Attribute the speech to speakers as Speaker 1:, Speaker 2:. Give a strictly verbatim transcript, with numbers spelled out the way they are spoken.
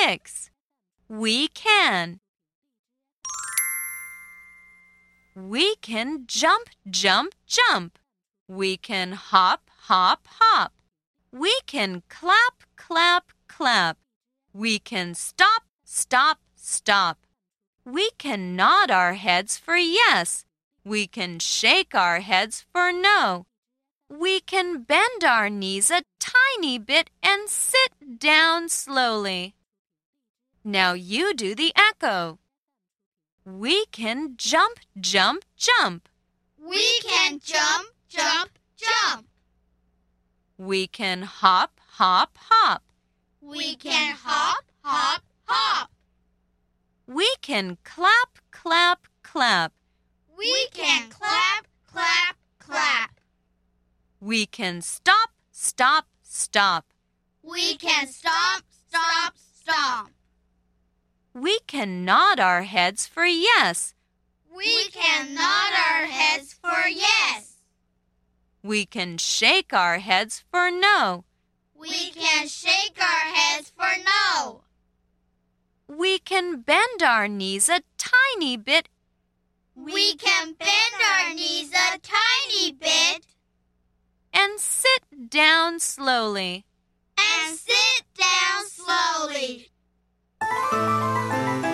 Speaker 1: six. We can. We can jump, jump, jump. We can hop, hop, hop. We can clap, clap, clap. We can stop, stop, stop. We can nod our heads for yes. We can shake our heads for no. We can bend our knees a tiny bit and sit down slowly. Now you do the echo. We can jump, jump, jump.
Speaker 2: We can jump, jump, jump.
Speaker 1: We can hop, hop, hop.
Speaker 2: We can hop, hop, hop.
Speaker 1: We can clap, clap, clap.
Speaker 2: We can clap, clap, clap.
Speaker 1: We can stop, stop, stop.
Speaker 2: We can stomp, stomp, stomp.
Speaker 1: We can nod our heads for yes.
Speaker 2: We can nod our heads for yes.
Speaker 1: We can shake our heads for no.
Speaker 2: We can shake our heads for no.
Speaker 1: We can bend our knees a tiny bit.
Speaker 2: We can bend our knees a tiny bit.
Speaker 1: And sit down slowly.
Speaker 2: And sit down slowly.